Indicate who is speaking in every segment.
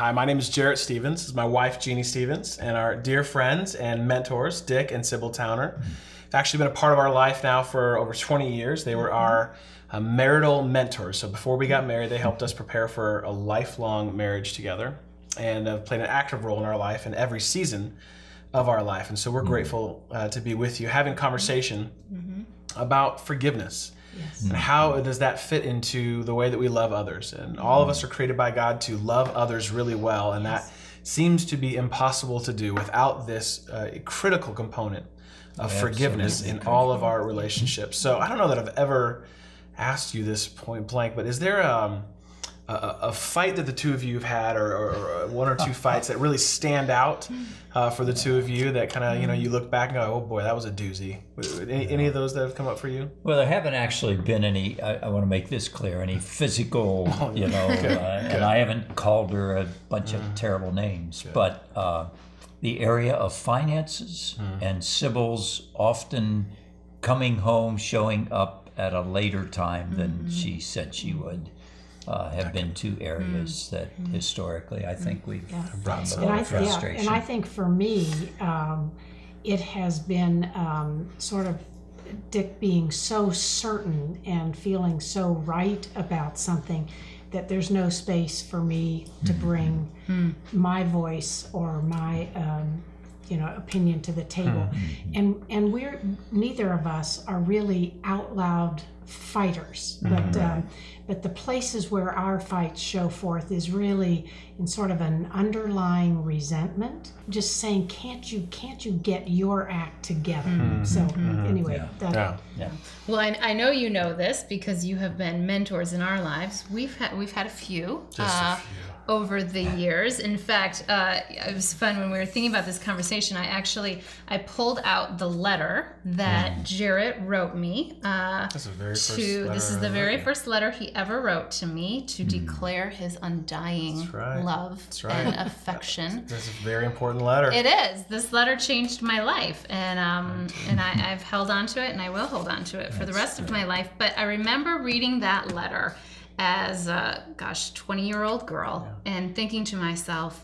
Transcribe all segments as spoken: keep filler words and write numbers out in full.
Speaker 1: Hi, my name is Jarrett Stevens. This is my wife, Jeannie Stevens, and our dear friends and mentors, Dick and Sybil Towner. They've actually been a part of our life now for over twenty years. They were our uh, marital mentors. So before we got married, they helped us prepare for a lifelong marriage together and have played an active role in our life in every season of our life. And so we're grateful uh, to be with you, having conversation mm-hmm. about forgiveness. Yes. And how does that fit into the way that we love others? And all of us are created by God to love others really well, and yes. that seems to be impossible to do without this uh, critical component of yeah, forgiveness in all of our relationships. So I don't know that I've ever asked you this point blank, but is there um, a, a fight that the two of you have had, or, or, or one or two fights that really stand out uh, for the two of you that kind of, you know, you look back and go, oh boy, that was a doozy? Any, any of those that have come up for you?
Speaker 2: Well, there haven't actually been any, I, I want to make this clear, any physical, oh, you know, good, uh, good. And I haven't called her a bunch mm. of terrible names, good. but uh, the area of finances mm. and Sybil's often coming home, showing up at a later time than mm-hmm. she said she would. Uh, have been two areas mm. that mm. historically I think we've yeah. brought a lot of frustration.
Speaker 3: Yeah, and I think for me, um, it has been um, sort of Dick being so certain and feeling so right about something that there's no space for me to mm-hmm. bring mm. my voice or my um, you know opinion to the table. Mm-hmm. And and we're neither of us are really out loud fighters, but mm-hmm. um, but the places where our fights show forth is really in sort of an underlying resentment, just saying, can't you can't you get your act together? Mm-hmm. So mm-hmm. anyway,
Speaker 2: yeah.
Speaker 3: That,
Speaker 2: yeah. yeah.
Speaker 4: Well, I, I know you know this because you have been mentors in our lives. We've had we've had a few.
Speaker 1: Just
Speaker 4: uh,
Speaker 1: a few.
Speaker 4: Over the years. In fact, uh, it was fun when we were thinking about this conversation. I actually I pulled out the letter that mm. Jarrett wrote me. Uh,
Speaker 1: That's the very first
Speaker 4: to,
Speaker 1: letter.
Speaker 4: This is the very first letter he ever wrote to me to mm. declare his undying
Speaker 1: right.
Speaker 4: love
Speaker 1: right.
Speaker 4: and affection.
Speaker 1: That's a very important letter.
Speaker 4: It is. This letter changed my life, and um, and I, I've held on to it, and I will hold on to it for That's the rest right. of my life. But I remember reading that letter as a, gosh, twenty-year-old girl yeah. and thinking to myself,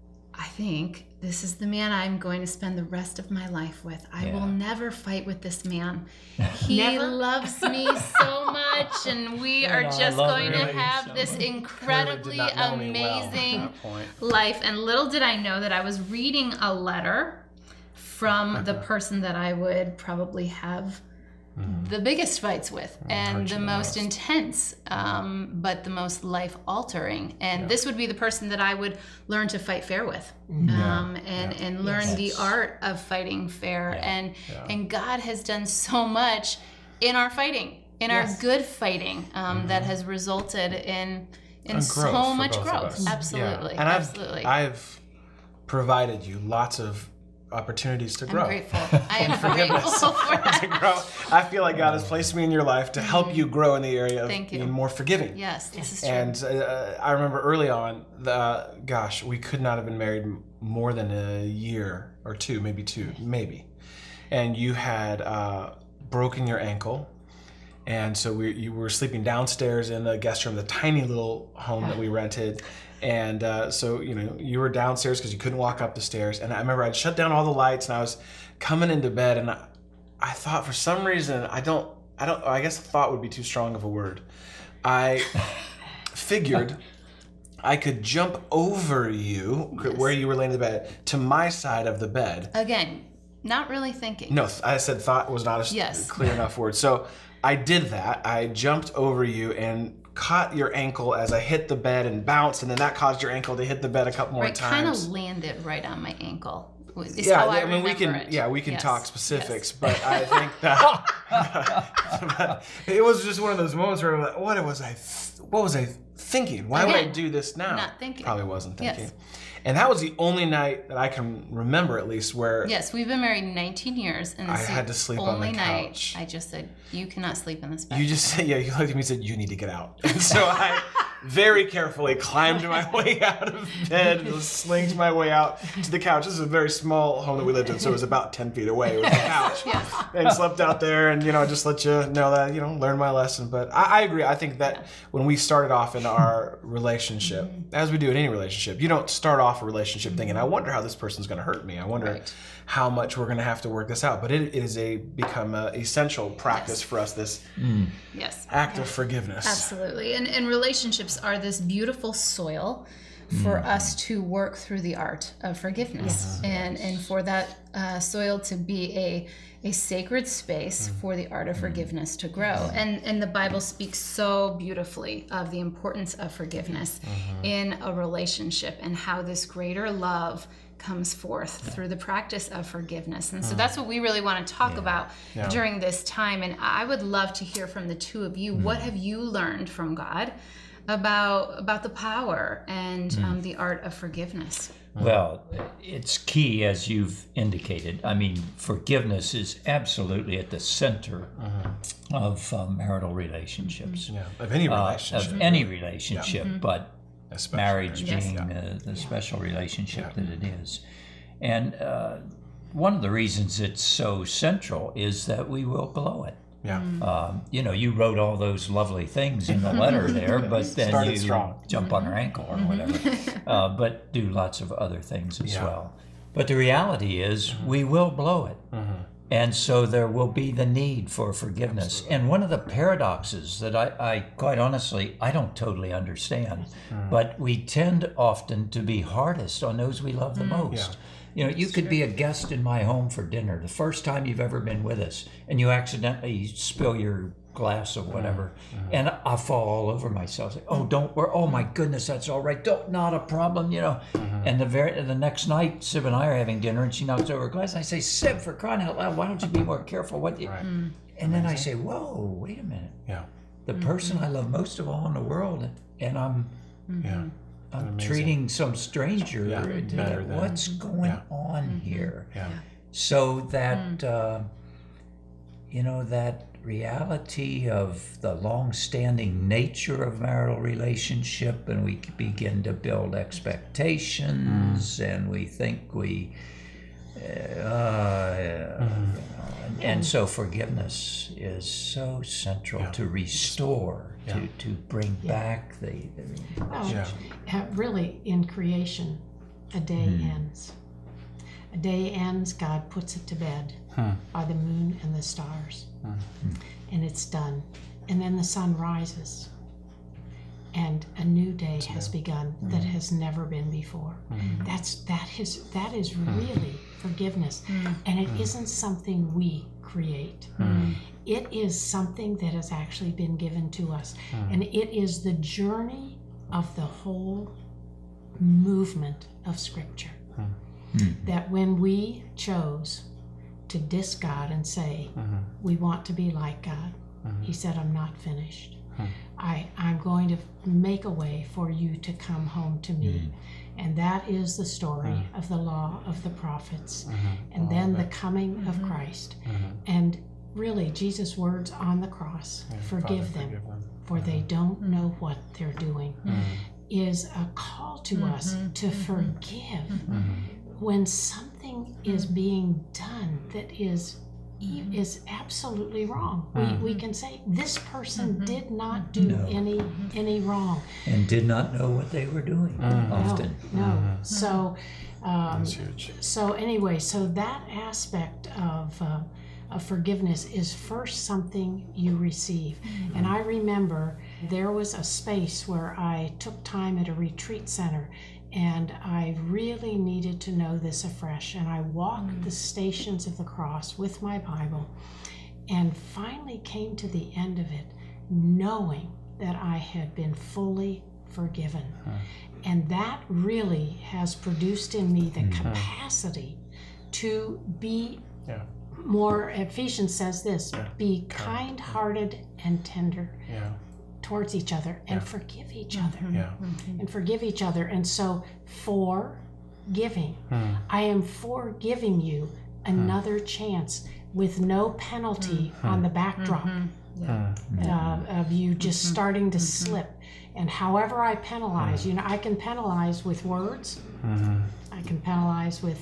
Speaker 4: I think this is the man I'm going to spend the rest of my life with. I yeah. will never fight with this man. He
Speaker 3: never?
Speaker 4: loves me so much, and we
Speaker 2: yeah,
Speaker 4: are
Speaker 2: no,
Speaker 4: just going
Speaker 2: really
Speaker 4: to have
Speaker 2: so
Speaker 4: this
Speaker 2: much.
Speaker 4: incredibly amazing
Speaker 1: well
Speaker 4: life. And little did I know that I was reading a letter from the person that I would probably have the biggest fights with and the most intense, um, but the most life-altering. And yeah. this would be the person that I would learn to fight fair with, um, yeah. and, yeah. and learn yes. the art of fighting fair. Yeah. And yeah. and God has done so much in our fighting, in yes. our good fighting, um, mm-hmm. that has resulted in in
Speaker 1: and
Speaker 4: so
Speaker 1: growth
Speaker 4: much growth. Absolutely,
Speaker 1: yeah. and
Speaker 4: absolutely.
Speaker 1: I've, I've provided you lots of opportunities to grow.
Speaker 4: I'm grateful. I am grateful for that.
Speaker 1: to grow. I feel like God has placed me in your life to help you grow in the area of
Speaker 4: Thank you.
Speaker 1: being more forgiving.
Speaker 4: Yes, this is true.
Speaker 1: And uh, I remember early on, the, gosh, we could not have been married more than a year or two, maybe two, maybe. And you had uh, broken your ankle. And so we you were sleeping downstairs in the guest room, the tiny little home that we rented. And uh, so, you know, you were downstairs because you couldn't walk up the stairs. And I remember I'd shut down all the lights and I was coming into bed, and I, I thought for some reason, I don't, I don't, I guess thought would be too strong of a word. I figured I could jump over you yes. where you were laying in the bed to my side of the bed.
Speaker 4: Again, not really thinking.
Speaker 1: No, I said thought was not a
Speaker 4: yes.
Speaker 1: clear enough word. So I did that. I jumped over you and caught your ankle as I hit the bed and bounced, and then that caused your ankle to hit the bed a couple more
Speaker 4: right,
Speaker 1: times.
Speaker 4: Kind of landed right on my ankle. Is
Speaker 1: yeah,
Speaker 4: how I,
Speaker 1: I mean we can.
Speaker 4: It.
Speaker 1: Yeah, we can
Speaker 4: yes.
Speaker 1: talk specifics,
Speaker 4: yes.
Speaker 1: but I think that it was just one of those moments where, like, what was I? Th- what was I thinking? Why
Speaker 4: Again,
Speaker 1: would I do this now?
Speaker 4: Not thinking.
Speaker 1: Probably wasn't thinking.
Speaker 4: Yes.
Speaker 1: And that was the only night that I can remember, at least, where
Speaker 4: yes, we've been married nineteen years, and
Speaker 1: I
Speaker 4: this
Speaker 1: had to sleep
Speaker 4: only
Speaker 1: on the
Speaker 4: night
Speaker 1: couch.
Speaker 4: I just said, "You cannot sleep in this bed."
Speaker 1: You just said, yeah. You looked at me and said, "You need to get out." And so I, very carefully climbed my way out of bed, and slinked my way out to the couch. This is a very small home that we lived in, so it was about ten feet away. It was the couch.
Speaker 4: Yes.
Speaker 1: And slept out there, and, you know, just let you know that, you know, learn my lesson. But I, I agree. I think that when we started off in our relationship, mm-hmm. as we do in any relationship, you don't start off a relationship thinking, I wonder how this person's going to hurt me. I wonder
Speaker 4: Right.
Speaker 1: how much we're going to have to work this out. But it, it is a become an essential practice
Speaker 4: Yes.
Speaker 1: for us, this
Speaker 4: Yes.
Speaker 1: act of forgiveness.
Speaker 4: Absolutely. And, and relationships are this beautiful soil for
Speaker 1: Mm-hmm.
Speaker 4: us to work through the art of forgiveness, and, and for that uh, soil to be a, a sacred space
Speaker 1: Mm-hmm.
Speaker 4: for the art of forgiveness to grow. And, and the Bible speaks so beautifully of the importance of forgiveness
Speaker 1: Mm-hmm.
Speaker 4: in a relationship, and how this greater love comes forth through the practice of forgiveness. And so that's what we really want to talk about
Speaker 1: Yeah.
Speaker 4: during this time. And I would love to hear from the two of you. What have you learned from God about about the power and um, the art of forgiveness?
Speaker 2: Well, it's key, as you've indicated. I mean, forgiveness is absolutely at the center of uh, marital relationships,
Speaker 1: Yeah, of any
Speaker 2: uh,
Speaker 1: relationship.
Speaker 2: of any relationship, but
Speaker 1: Especially.
Speaker 2: marriage
Speaker 4: Yes.
Speaker 2: being uh, the special relationship that it is. And uh, one of the reasons it's so central is that we will blow it.
Speaker 1: Yeah.
Speaker 2: Um, you know, you wrote all those lovely things in the letter there, but then
Speaker 1: Started
Speaker 2: you
Speaker 1: strong.
Speaker 2: jump on her ankle or whatever, uh, but do lots of other things as
Speaker 1: Yeah.
Speaker 2: well. But the reality is we will blow it. And so there will be the need for forgiveness. And one of the paradoxes that I, I quite honestly, I don't totally understand, but we tend often to be hardest on those we love the most. You know, you could be a guest in my home for dinner, the first time you've ever been with us, and you accidentally spill your glass of whatever, and I fall all over myself. Like, oh, don't worry. Oh my goodness, that's all right. Don't, not a problem, you know. And the very the next night, Sib and I are having dinner, and she knocks over a glass, and I say, Sib, for crying out loud, why don't you be more careful? What? You...
Speaker 1: Right.
Speaker 2: And then I say, whoa, wait a minute.
Speaker 1: Yeah.
Speaker 2: The person I love most of all in the world, and I'm
Speaker 1: Yeah.
Speaker 2: I'm
Speaker 1: Amazing.
Speaker 2: treating some stranger.
Speaker 1: Yeah,
Speaker 2: to-
Speaker 1: better than-
Speaker 2: What's going
Speaker 1: Yeah.
Speaker 2: on here?
Speaker 1: Yeah.
Speaker 2: So that uh, you know, that reality of the long-standing nature of marital relationship, and we begin to build expectations, and we think we uh, uh, you know, and, and so forgiveness is so central
Speaker 1: Yeah.
Speaker 2: to restore,
Speaker 1: Yeah.
Speaker 2: to to bring back the, the
Speaker 3: Oh,
Speaker 1: Yeah.
Speaker 3: uh, really, in creation, a day ends. A day ends, God puts it to bed by the moon and the stars. And it's done. And then the sun rises. And a new day has begun that has never been before. That's that is that is really forgiveness. And it isn't something we create. It is something that has actually been given to us. And it is the journey of the whole movement of Scripture. That when we chose to diss God and say, we want to be like God, He said, I'm not finished. I, I'm going to make a way for you to come home to me. And that is the story of the law of the prophets. And then the coming of Christ. And really, Jesus' words on the cross, forgive
Speaker 1: Father,
Speaker 3: them,
Speaker 1: forgive them.
Speaker 3: for they don't know what they're doing, is a call to us to forgive when something is being done that is is absolutely wrong. We, we can say this person did not do
Speaker 2: No.
Speaker 3: any any wrong.
Speaker 2: and did not know what they were doing often.
Speaker 3: No, no. So um,
Speaker 1: That's huge.
Speaker 3: so anyway, so that aspect of uh, of forgiveness is first something you receive. And I remember there was a space where I took time at a retreat center, and I really needed to know this afresh. And I walked the stations of the cross with my Bible, and finally came to the end of it, knowing that I had been fully forgiven. And that really has produced in me the capacity to be
Speaker 1: Yeah.
Speaker 3: more. Ephesians says this, be kind-hearted and tender
Speaker 1: Yeah.
Speaker 3: towards each other, and forgive each other,
Speaker 1: Yeah.
Speaker 3: and forgive each other. And so for giving, I am for giving you another chance with no penalty
Speaker 1: Mm-hmm.
Speaker 3: on the backdrop
Speaker 4: Yeah.
Speaker 3: uh, of you just
Speaker 4: Mm-hmm.
Speaker 3: starting to slip. And however I penalize, you know, I can penalize with words.
Speaker 1: Mm-hmm.
Speaker 3: I can penalize with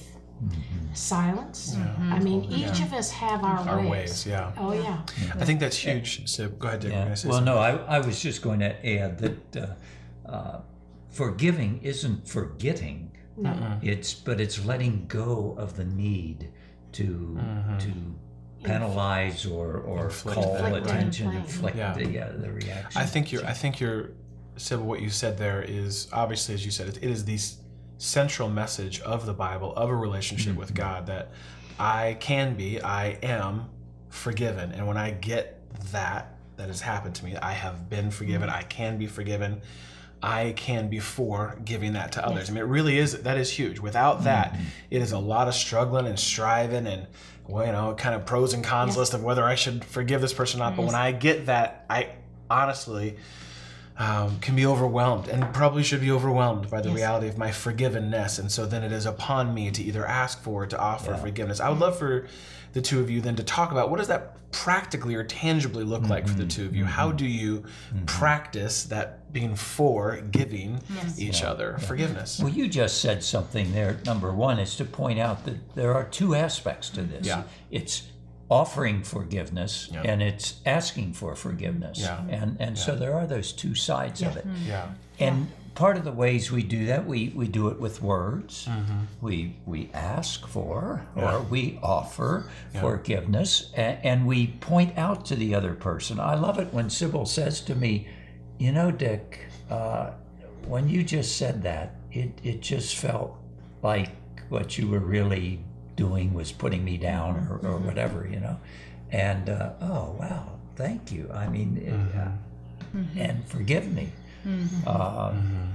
Speaker 3: silence.
Speaker 4: Mm-hmm.
Speaker 3: I mean, each of us have our,
Speaker 1: Our
Speaker 3: ways.
Speaker 1: ways, yeah.
Speaker 3: Oh yeah.
Speaker 1: I think that's huge. So go ahead, Dick. You're
Speaker 2: Yeah.
Speaker 1: gonna say
Speaker 2: Well,
Speaker 1: something.
Speaker 2: no, I, I was just going to add that uh, uh, forgiving isn't forgetting.
Speaker 3: No.
Speaker 2: It's but it's letting go of the need to to penalize or, or
Speaker 1: Inflict
Speaker 2: call
Speaker 1: that, right.
Speaker 2: attention,
Speaker 3: Inflict.
Speaker 2: inflict
Speaker 1: Yeah.
Speaker 2: the uh, the reaction.
Speaker 1: I think you're. I think you're, Sybil. What you said there is obviously, as you said, it, it is the s- central message of the Bible, of a relationship with God, that I can be, I am forgiven, and when I get that, that has happened to me, I have been forgiven. I can be forgiven. I can be for giving that to others. I mean, it really is. That is huge. Without that, it is a lot of struggling and striving and, well, you know, kind of pros and cons
Speaker 3: Yes.
Speaker 1: list of whether I should forgive this person or not. But when I get that, I honestly um, can be overwhelmed and probably should be overwhelmed by the
Speaker 3: Yes.
Speaker 1: reality of my forgivenness. And so then it is upon me to either ask for or to offer forgiveness. I would love for the two of you then to talk about what does that practically or tangibly look like for the two of you? How do you practice that being for giving each other forgiveness?
Speaker 2: Well, you just said something there. Number one is to point out that there are two aspects to this.
Speaker 1: Yeah.
Speaker 2: It's offering forgiveness
Speaker 1: Yeah.
Speaker 2: and it's asking for forgiveness.
Speaker 1: Yeah.
Speaker 2: And and so there are those two sides of it.
Speaker 1: Yeah.
Speaker 2: And part of the ways we do that, we, we do it with words.
Speaker 1: Mm-hmm.
Speaker 2: We we ask for or we offer forgiveness, and, and we point out to the other person. I love it when Sybil says to me, you know, Dick, uh, when you just said that, it, it just felt like what you were really doing was putting me down or, or whatever, you know. And, uh, oh, wow, thank you. I mean, it, uh, and forgive me. Uh,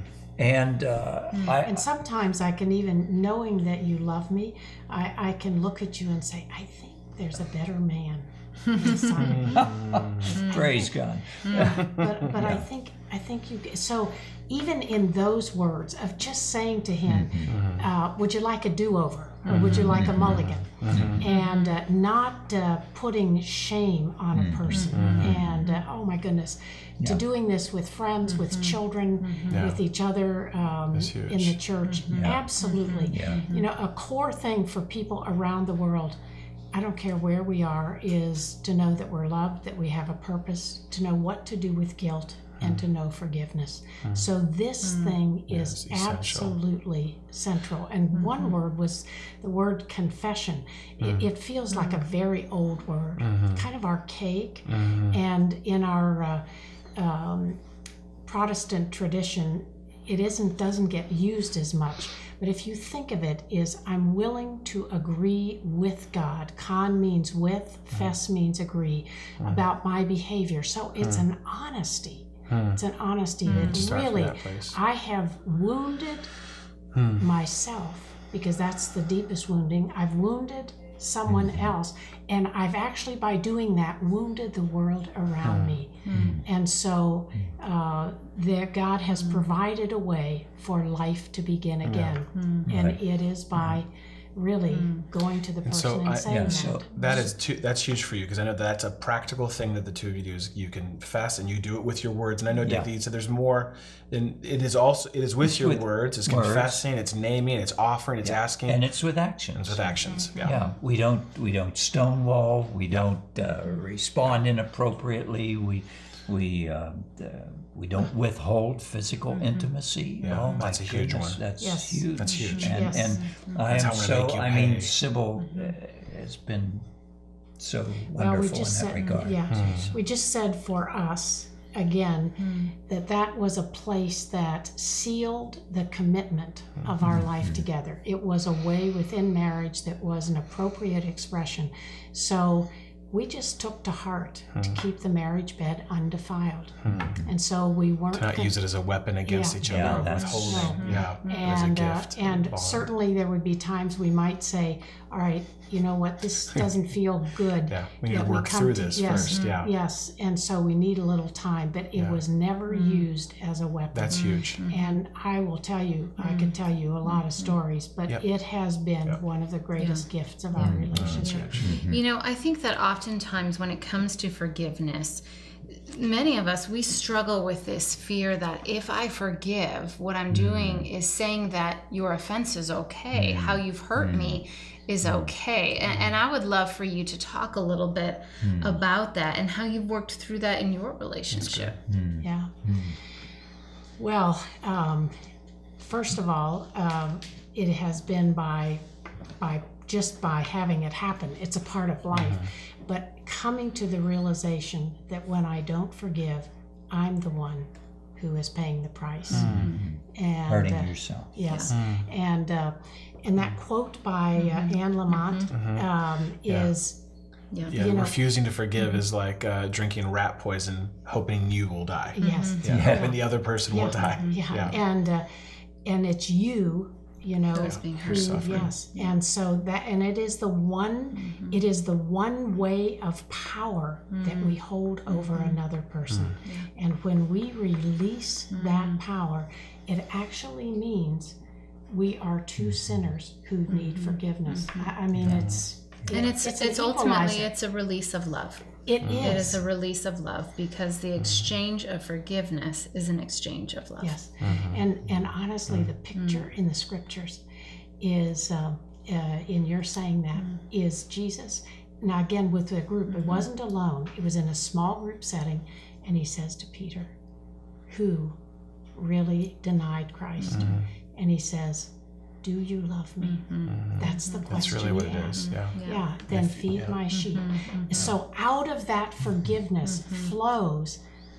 Speaker 2: and uh, I,
Speaker 3: And sometimes I can even, knowing that you love me, I, I can look at you and say, I think there's a better man inside of me.
Speaker 2: praise God.
Speaker 3: But but I think I think you so even in those words of just saying to him, uh, would you like a do-over or would you like a mulligan, and uh, not uh, putting shame on a person, and uh, oh my goodness, to doing this with friends, with children,
Speaker 1: Yeah.
Speaker 3: with each other um,
Speaker 1: That's huge.
Speaker 3: in the church, absolutely.
Speaker 2: Yeah.
Speaker 3: You know, a core thing for people around the world, I don't care where we are, is to know that we're loved, that we have a purpose, to know what to do with guilt, and to know forgiveness. So this thing is
Speaker 1: Yes, essential.
Speaker 3: absolutely central. And one word was the word confession. It, it feels like a very old word, kind of archaic. And in our uh, um, Protestant tradition, it isn't doesn't get used as much. But if you think of it, is I'm willing to agree with God. Con means with, fess means agree about my behavior. So it's an honesty. It's an honesty that
Speaker 1: Start from
Speaker 3: really
Speaker 1: that place.
Speaker 3: I have wounded myself, because that's the deepest wounding. I've wounded someone else, and I've actually, by doing that, wounded the world around me. And so uh, there, God has provided a way for life to begin again, and
Speaker 2: Right.
Speaker 3: it is by really going to the person
Speaker 1: so
Speaker 3: and,
Speaker 1: I-
Speaker 3: saying
Speaker 2: yeah,
Speaker 3: that.
Speaker 2: so-
Speaker 1: That is too, that's huge for you, because I know that's a practical thing that the two of you do is you confess and you do it with your words. And I know, Dick,
Speaker 2: Yeah.
Speaker 1: that you said there's more. And it is also it is with your
Speaker 2: with
Speaker 1: words. It's
Speaker 2: words.
Speaker 1: confessing. It's naming. It's offering. It's asking.
Speaker 2: And it's with actions.
Speaker 1: it's with actions. Yeah.
Speaker 2: Yeah, we don't we don't stonewall. We don't uh, respond inappropriately. We we uh, uh, we don't withhold physical intimacy.
Speaker 1: Yeah,
Speaker 2: oh my
Speaker 1: that's a huge
Speaker 2: goodness,
Speaker 1: one.
Speaker 2: That's
Speaker 3: Yes.
Speaker 2: huge.
Speaker 1: That's huge.
Speaker 2: And,
Speaker 3: Yes.
Speaker 2: and I
Speaker 1: That's
Speaker 2: am
Speaker 1: how we're
Speaker 2: so.
Speaker 1: gonna make you
Speaker 2: I mean,
Speaker 1: pay.
Speaker 2: Sybil uh, has been so
Speaker 3: Well,
Speaker 2: wonderful
Speaker 3: we
Speaker 2: in that
Speaker 3: just said,
Speaker 2: regard.
Speaker 3: yeah, we just said for us again that that was a place that sealed the commitment of our life together. It was a way within marriage that was an appropriate expression. So we just took to heart to keep the marriage bed undefiled. And so we weren't...
Speaker 1: To not
Speaker 3: con-
Speaker 1: use it as a weapon against
Speaker 3: Yeah.
Speaker 1: each
Speaker 2: Yeah,
Speaker 1: other of
Speaker 2: that's-
Speaker 1: withholding.
Speaker 3: No.
Speaker 1: Yeah, as a
Speaker 3: and uh,
Speaker 1: gift.
Speaker 3: and
Speaker 1: bond.
Speaker 3: certainly there would be times we might say, all right, you know what, this doesn't feel good.
Speaker 1: Yeah, we need to
Speaker 3: that
Speaker 1: work
Speaker 3: come
Speaker 1: through
Speaker 3: to-
Speaker 1: this
Speaker 3: yes,
Speaker 1: first. Yeah,
Speaker 3: Yes, and so we need a little time, but it
Speaker 1: Yeah.
Speaker 3: was never used as a weapon.
Speaker 1: that's huge.
Speaker 3: And I will tell you, I could tell you a lot of stories, but
Speaker 1: Yep.
Speaker 3: it has been
Speaker 1: Yep.
Speaker 3: one of the greatest gifts of our relationship.
Speaker 4: You know, I think that oftentimes when it comes to forgiveness, many of us, we struggle with this fear that if I forgive, what I'm doing is saying that your offense is okay, how you've hurt me is okay. And, and I would love for you to talk a little bit about that and how you've worked through that in your relationship.
Speaker 3: Yeah. Well, um, first of all, um, it has been by, by just by having it happen. It's a part of life. But coming to the realization that when I don't forgive, I'm the one who is paying the price. And
Speaker 2: Hurting
Speaker 3: uh,
Speaker 2: yourself.
Speaker 3: Yes, and uh, and that quote by uh, Anne Lamott um,
Speaker 1: Yeah.
Speaker 3: is
Speaker 4: Yeah.
Speaker 1: Yeah,
Speaker 3: you know-
Speaker 1: refusing to forgive is like uh, drinking rat poison, hoping you will die.
Speaker 3: yes,
Speaker 1: Yeah,
Speaker 2: Yeah.
Speaker 1: hoping the other person will die.
Speaker 3: yeah,
Speaker 1: Yeah.
Speaker 3: and uh, and it's you, you know,
Speaker 4: Who's being
Speaker 3: who,
Speaker 4: hurt.
Speaker 1: suffering.
Speaker 3: yes, and so that and it is the one, it is the one way of power that we hold over another person, and when we release that power, it actually means we are two sinners who need forgiveness. I, I mean, it's
Speaker 4: And it's it's,
Speaker 3: an
Speaker 4: ultimately
Speaker 3: equalizer.
Speaker 4: it's a release of love.
Speaker 3: It
Speaker 4: It is
Speaker 3: is.
Speaker 4: a release of love because the exchange of forgiveness is an exchange of love.
Speaker 3: Yes, and and honestly, the picture in the scriptures is um, uh, in your saying that is Jesus. Now again, with the group, it wasn't alone. It was in a small group setting, and he says to Peter, who really denied Christ, and he says, "Do you love me?" That's the
Speaker 1: That's
Speaker 3: question.
Speaker 1: really what
Speaker 3: he
Speaker 1: it
Speaker 3: asked.
Speaker 1: is. Yeah.
Speaker 3: Yeah, then
Speaker 1: If-
Speaker 3: feed
Speaker 1: yeah.
Speaker 3: my sheep. So out of that forgiveness flows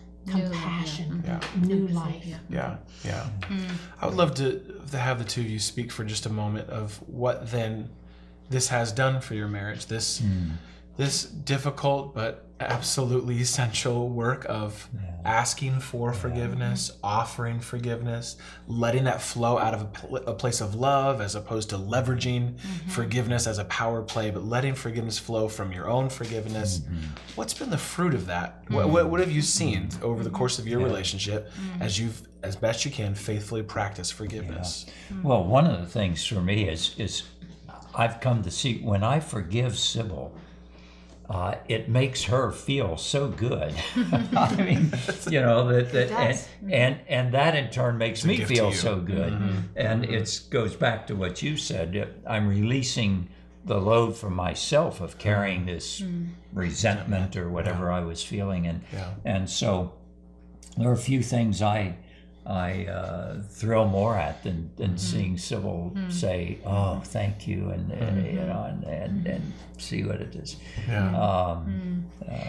Speaker 3: compassion,
Speaker 1: Yeah.
Speaker 3: new life.
Speaker 1: Yeah, yeah. I would love to, to have the two of you speak for just a moment of what then this has done for your marriage. This this difficult but absolutely essential work of asking for forgiveness, offering forgiveness, letting that flow out of a, pl- a place of love as opposed to leveraging forgiveness as a power play, but letting forgiveness flow from your own forgiveness. What's been the fruit of that? What, what, what have you seen over the course of your relationship as you've, as best you can, faithfully practiced forgiveness?
Speaker 2: Well, one of the things for me is is I've come to see when I forgive Sybil, uh, it makes her feel so good. I mean, you know that, that and,
Speaker 3: does.
Speaker 2: and and that in turn makes me
Speaker 1: gift to
Speaker 2: feel
Speaker 1: you.
Speaker 2: so good. And it goes back to what you said. I'm releasing the load from myself of carrying this resentment or whatever I was feeling, and
Speaker 1: Yeah.
Speaker 2: and so there are a few things I I uh, thrill more at than, than seeing Sybil say, "Oh, thank you," and uh, you know, and, and and see what it is.
Speaker 1: Yeah.
Speaker 2: Um,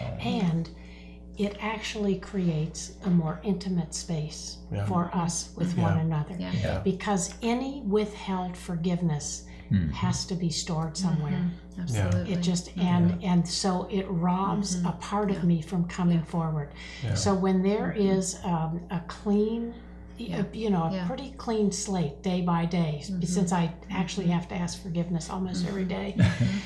Speaker 3: And it actually creates a more intimate space
Speaker 1: Yeah.
Speaker 3: for us with one another.
Speaker 4: Yeah.
Speaker 2: Yeah.
Speaker 3: Because any withheld forgiveness has to be stored somewhere.
Speaker 4: Absolutely.
Speaker 3: It just and and so it robs a part of me from coming forward. So when there is um, a clean, a- you know, a
Speaker 4: Yeah.
Speaker 3: pretty clean slate day by day, since I actually have to ask forgiveness almost every day,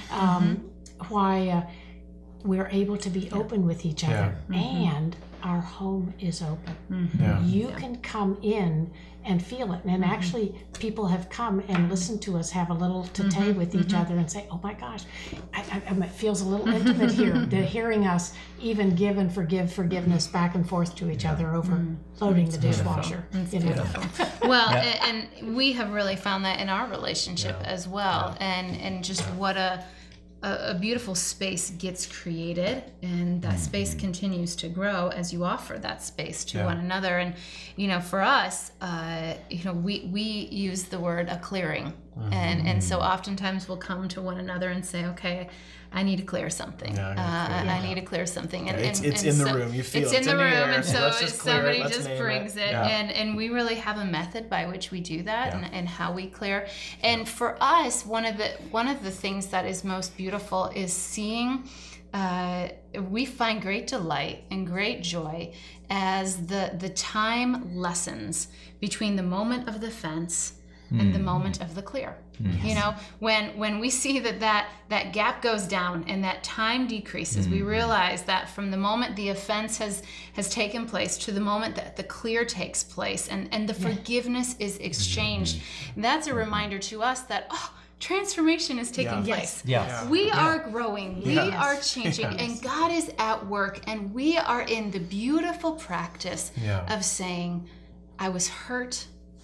Speaker 3: um, why uh, we're able to be open with each other, and our home is open.
Speaker 1: Yeah.
Speaker 3: You can come in and feel it. And actually, people have come and listened to us have a little tete with each other and say, "Oh my gosh, I, I, it feels a little intimate here." They're hearing us even give and forgive forgiveness back and forth to each other over loading the dishwasher. You know?
Speaker 4: Well, and, and we have really found that in our relationship as well, and and just what a, a a beautiful space gets created, and that space continues to grow as you offer that space to
Speaker 1: Yeah.
Speaker 4: one another. And you know, for us, uh, you know, we we use the word a clearing, and and so oftentimes we'll come to one another and say, okay, I need to clear something.
Speaker 1: Yeah, I
Speaker 4: uh,
Speaker 1: gotta clear
Speaker 4: I need to clear something. And,
Speaker 1: It's-
Speaker 4: and,
Speaker 1: it's
Speaker 4: and
Speaker 1: in the
Speaker 4: so
Speaker 1: room. You feel
Speaker 4: it's
Speaker 1: it.
Speaker 4: in
Speaker 1: It's
Speaker 4: the
Speaker 1: in the
Speaker 4: room,
Speaker 1: air.
Speaker 4: and so
Speaker 1: Let's just clear it.
Speaker 4: somebody
Speaker 1: Let's
Speaker 4: just
Speaker 1: name it.
Speaker 4: brings it,
Speaker 1: Yeah.
Speaker 4: and and we really have a method by which we do that,
Speaker 1: Yeah.
Speaker 4: and, and how we clear. And for us, one of the one of the things that is most beautiful is seeing uh, we find great delight and great joy as the the time lessens between the moment of the fence and the moment of the clear.
Speaker 2: Yes.
Speaker 4: You know, when when we see that, that that gap goes down and that time decreases, mm-hmm. we realize that from the moment the offense has has taken place to the moment that the clear takes place and, and the yeah. forgiveness is exchanged, mm-hmm. that's a reminder to us that, oh, transformation is taking
Speaker 1: yeah.
Speaker 4: place.
Speaker 2: Yes.
Speaker 1: Yeah.
Speaker 4: We
Speaker 1: yeah.
Speaker 4: are growing. We
Speaker 1: yes.
Speaker 4: are changing.
Speaker 1: Yes.
Speaker 4: And God is at work. And we are in the beautiful practice
Speaker 1: yeah.
Speaker 4: of saying, I was hurt,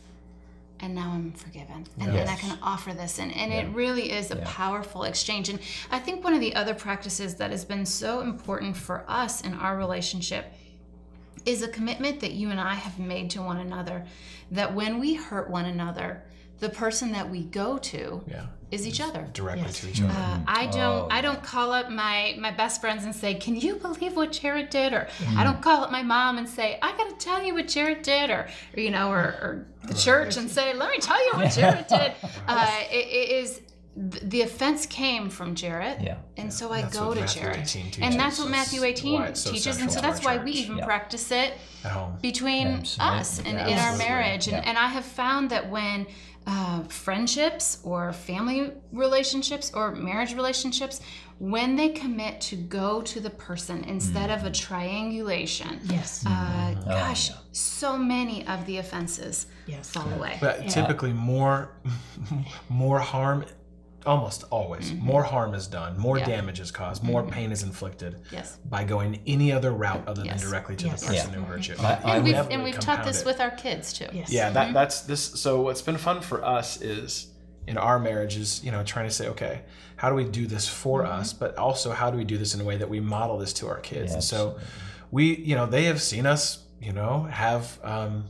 Speaker 4: and now I'm forgiven. And,
Speaker 2: Yes.
Speaker 4: and I can offer this. And, and
Speaker 2: Yeah.
Speaker 4: it really is a
Speaker 2: Yeah.
Speaker 4: powerful exchange. And I think one of the other practices that has been so important for us in our relationship is a commitment that you and I have made to one another, that when we hurt one another, the person that we go to
Speaker 1: yeah.
Speaker 4: is each other.
Speaker 1: Directly
Speaker 3: Yes.
Speaker 1: to each other.
Speaker 4: Uh, I don't.
Speaker 2: Oh,
Speaker 4: I don't call up my my best friends and say, "Can you believe what Jared did?" Or I don't call up my mom and say, "I got to tell you what Jared did," or, or you know, or, or the church and say, "Let me tell you what Jared did." Uh, it, it is the offense came from Jared,
Speaker 2: Yeah.
Speaker 4: and so I
Speaker 1: That's
Speaker 4: go
Speaker 1: what
Speaker 4: to
Speaker 1: Matthew
Speaker 4: Jared,
Speaker 1: eighteen teaches.
Speaker 4: and that's what
Speaker 1: That's
Speaker 4: Matthew eighteen
Speaker 1: why it's so
Speaker 4: teaches, and so
Speaker 1: central to
Speaker 4: that's
Speaker 1: our
Speaker 4: why we
Speaker 1: church.
Speaker 4: even
Speaker 2: Yeah.
Speaker 4: practice it
Speaker 1: At home.
Speaker 4: between
Speaker 2: Absolutely.
Speaker 4: us and
Speaker 2: Yeah.
Speaker 4: in our
Speaker 2: Absolutely.
Speaker 4: marriage. And,
Speaker 2: Yeah.
Speaker 4: and I have found that when uh, friendships or family relationships or marriage relationships, when they commit to go to the person instead of a triangulation,
Speaker 3: Yes.
Speaker 4: uh, gosh,
Speaker 2: yeah.
Speaker 4: so many of the offenses
Speaker 3: Yes.
Speaker 4: fall away.
Speaker 1: But typically more more harm, almost always, more harm is done, more
Speaker 4: Yeah.
Speaker 1: damage is caused, more pain is inflicted
Speaker 4: Yes.
Speaker 1: by going any other route other than
Speaker 4: Yes.
Speaker 1: directly to
Speaker 3: Yes.
Speaker 1: the person
Speaker 2: Yeah.
Speaker 1: who hurt you.
Speaker 2: I- I
Speaker 4: And we've,
Speaker 1: Inevitably
Speaker 4: and we've taught
Speaker 1: compound
Speaker 4: this
Speaker 1: it.
Speaker 4: with our kids too.
Speaker 3: Yes.
Speaker 1: Yeah, that that's this. So what's been fun for us is in our marriage is, you know, trying to say, okay, how do we do this for us, but also how do we do this in a way that we model this to our kids? And so we, you know, they have seen us, you know, have um,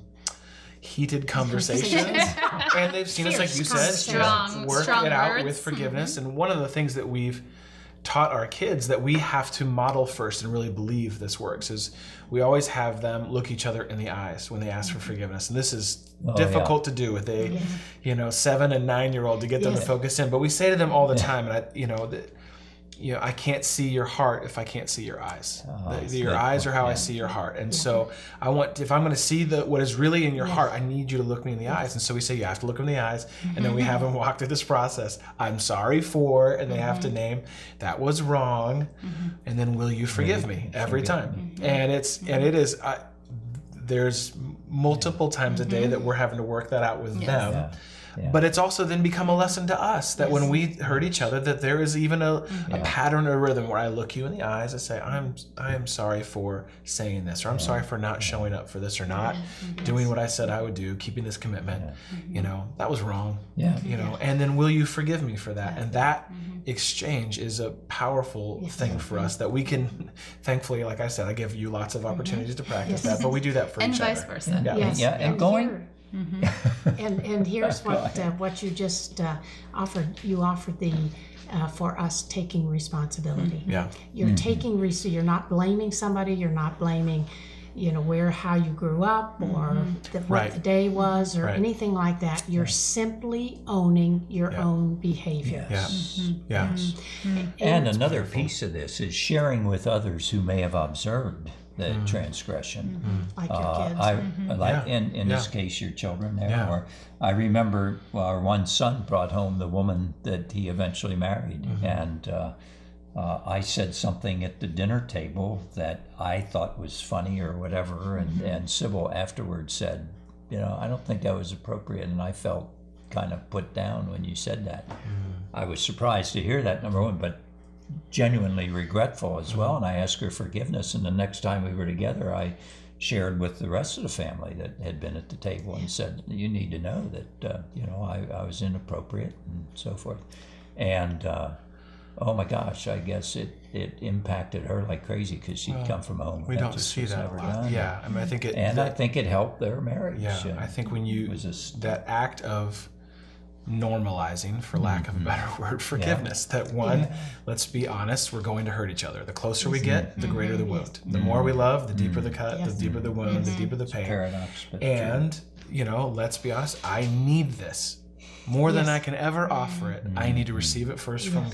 Speaker 1: heated conversations, and they've seen us, like you said, you know,
Speaker 4: Strong-
Speaker 1: work
Speaker 4: strong
Speaker 1: it out
Speaker 4: words.
Speaker 1: with forgiveness. And one of the things that we've taught our kids that we have to model first and really believe this works is we always have them look each other in the eyes when they ask for forgiveness. And this is
Speaker 2: Oh,
Speaker 1: difficult to do with a, you know, seven and nine year old to get them
Speaker 3: Yes.
Speaker 1: to focus in. But we say to them all the time, and I, you know, that, you know, I can't see your heart if I can't see your eyes.
Speaker 2: Oh,
Speaker 1: The-
Speaker 2: that's
Speaker 1: your
Speaker 2: good.
Speaker 1: eyes are how I
Speaker 2: Yeah.
Speaker 1: see your heart. And so I want, if I'm going to see the what is really in your heart, I need you to look me in the eyes. And so we say, you have to look in the eyes. And then we have them walk through this process. I'm sorry for, and they have to name, that was wrong. And then will you forgive me every time? And it's, and it is, I, there's multiple times a day that we're having to work that out with them.
Speaker 2: Yeah. Yeah.
Speaker 1: But it's also then become a lesson to us that when we hurt each other, that there is even a, a pattern or rhythm where I look you in the eyes, I say, I'm I am sorry for saying this, or I'm sorry for not showing up for this, or not doing what I said I would do, keeping this commitment. You know, that was wrong.
Speaker 2: Yeah.
Speaker 1: You know, and then will you forgive me for that? And that exchange is a powerful thing for us that we can, thankfully, like I said, I give you lots of opportunities to practice that, but we do that for
Speaker 4: And
Speaker 1: each
Speaker 4: vice
Speaker 1: other.
Speaker 4: versa.
Speaker 1: Yeah.
Speaker 3: Yes.
Speaker 2: Yeah, and going-
Speaker 3: here- and and here's what uh, what you just uh, offered. You offered the uh, for us taking responsibility.
Speaker 1: Yeah.
Speaker 3: You're taking res- You're not blaming somebody. You're not blaming, you know, where how you grew up or the, what
Speaker 1: Right.
Speaker 3: the day was or
Speaker 1: Right.
Speaker 3: anything like that. You're simply owning your
Speaker 1: Yeah.
Speaker 3: own behavior.
Speaker 1: Yeah. Yeah.
Speaker 2: And another piece of this is sharing with others who may have observed the transgression.
Speaker 3: Like your
Speaker 2: Uh,
Speaker 3: kids.
Speaker 2: I like
Speaker 1: Yeah.
Speaker 2: in in this
Speaker 1: Yeah.
Speaker 2: case your children there.
Speaker 1: Yeah.
Speaker 2: Or I remember well, our one son brought home the woman that he eventually married,
Speaker 1: Mm-hmm.
Speaker 2: and uh, uh, I said something at the dinner table that I thought was funny or whatever, and
Speaker 1: Mm-hmm.
Speaker 2: and Sybil afterwards said, you know, I don't think that was appropriate, and I felt kind of put down when you said that.
Speaker 1: Mm-hmm.
Speaker 2: I was surprised to hear that, number one, but genuinely regretful as well, and I asked her forgiveness. And the next time we were together, I shared with the rest of the family that had been at the table and said, you need to know that uh, you know I, I was inappropriate and so forth. And uh, oh my gosh, I guess it, it impacted her like crazy because she'd come from home.
Speaker 1: We
Speaker 2: that
Speaker 1: don't
Speaker 2: just
Speaker 1: see
Speaker 2: was
Speaker 1: that a
Speaker 2: never
Speaker 1: lot.
Speaker 2: done.
Speaker 1: Yeah. I mean, I think it,
Speaker 2: And I
Speaker 1: that-
Speaker 2: think it helped their marriage.
Speaker 1: yeah,
Speaker 2: Uh,
Speaker 1: I think when you,
Speaker 2: it was a s-
Speaker 1: that act of normalizing, for lack of a better word, forgiveness, that one, let's be honest, we're going to hurt each other. The closer we get, the greater the wound. The more we love, the deeper the cut,
Speaker 3: Yes.
Speaker 1: the deeper the wound, the deeper the pain.
Speaker 2: paradox, but true.
Speaker 1: And, you know, let's be honest, I need this. More than
Speaker 3: Yes.
Speaker 1: I can ever offer it, I need to receive it first from God.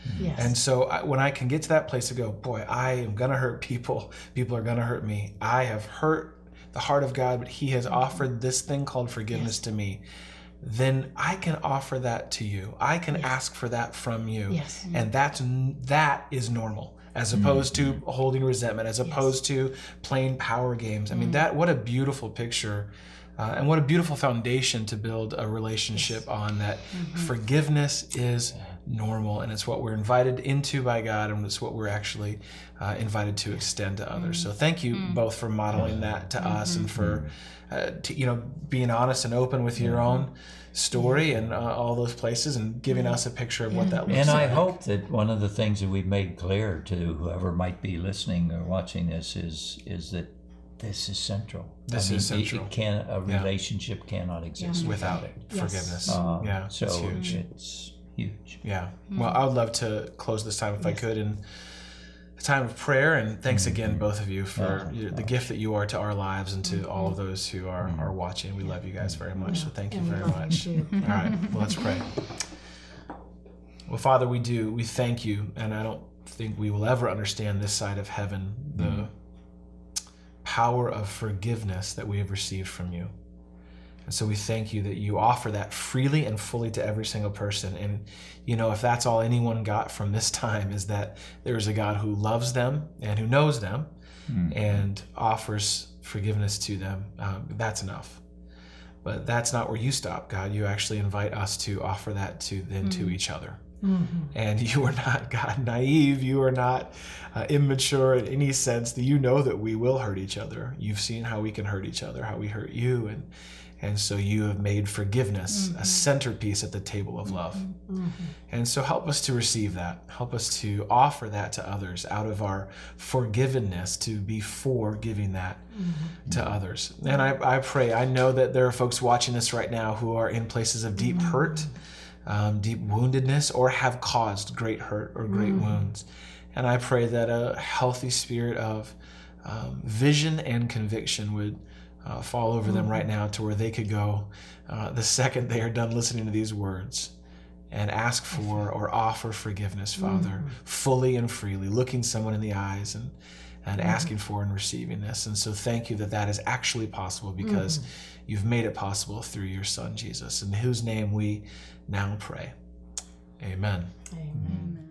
Speaker 3: Yes.
Speaker 1: And so I, when I can get to that place to go, boy, I am going to hurt people. People are going to hurt me. I have hurt the heart of God, but he has offered this thing called forgiveness yes. to me. Then I can offer that to you. I can yes. ask for that from you.
Speaker 3: Yes.
Speaker 1: And that's, that is normal, as opposed mm-hmm. to holding resentment, as opposed yes. to playing power games. I mean, mm-hmm. that, what a beautiful picture. Uh, and what a beautiful foundation to build a relationship yes. on, that mm-hmm. forgiveness is normal, and it's what we're invited into by God, and it's what we're actually uh, invited to extend to others. Mm-hmm. So thank you mm-hmm. both for modeling that to mm-hmm. us, and for uh, to, you know, being honest and open with your own story and uh, all those places, and giving us a picture of yeah. what that looks
Speaker 2: and
Speaker 1: like.
Speaker 2: And I hope that one of the things that we've made clear to whoever might be listening or watching this is is that this is central.
Speaker 1: This
Speaker 2: I mean,
Speaker 1: is central.
Speaker 2: It, it can a relationship yeah. cannot exist
Speaker 1: yeah.
Speaker 2: without,
Speaker 1: without
Speaker 2: it.
Speaker 1: Yes. Forgiveness.
Speaker 2: Uh,
Speaker 1: yeah,
Speaker 2: so
Speaker 1: it's huge.
Speaker 2: It's huge.
Speaker 1: Yeah. Well, I would love to close this time if yes. I could in a time of prayer. And thanks mm-hmm. again, both of you, for oh, the gift that you are to our lives and to mm-hmm. all of those who are, mm-hmm. are watching. We love you guys very much. Yeah. So thank you and very much. You all right. Well, let's pray. Well, Father, we do. We thank you. And I don't think we will ever understand this side of heaven, the mm-hmm. power of forgiveness that we have received from you. And so we thank you that you offer that freely and fully to every single person. And, you know, if that's all anyone got from this time, is that there is a God who loves them and who knows them mm-hmm. and offers forgiveness to them, um, that's enough. But that's not where you stop, God. You actually invite us to offer that to then mm-hmm. to each other. Mm-hmm. And you are not, God, naive. You are not uh, immature in any sense. That you know that we will hurt each other. You've seen how we can hurt each other, how we hurt you. And and so you have made forgiveness mm-hmm. a centerpiece at the table of love. Mm-hmm. And so help us to receive that. Help us to offer that to others out of our forgivenness, to be for giving that mm-hmm. to others. And I, I pray, I know that there are folks watching this right now who are in places of deep mm-hmm. hurt, Um, deep woundedness, or have caused great hurt or great mm. wounds. And I pray that a healthy spirit of um, vision and conviction would uh, fall over mm. them right now, to where they could go uh, the second they are done listening to these words and ask for or offer forgiveness, Father, mm. fully and freely, looking someone in the eyes and, and mm. asking for and receiving this. And so thank you that that is actually possible, because mm. you've made it possible through your Son, Jesus, in whose name we now pray. Amen.
Speaker 3: Amen.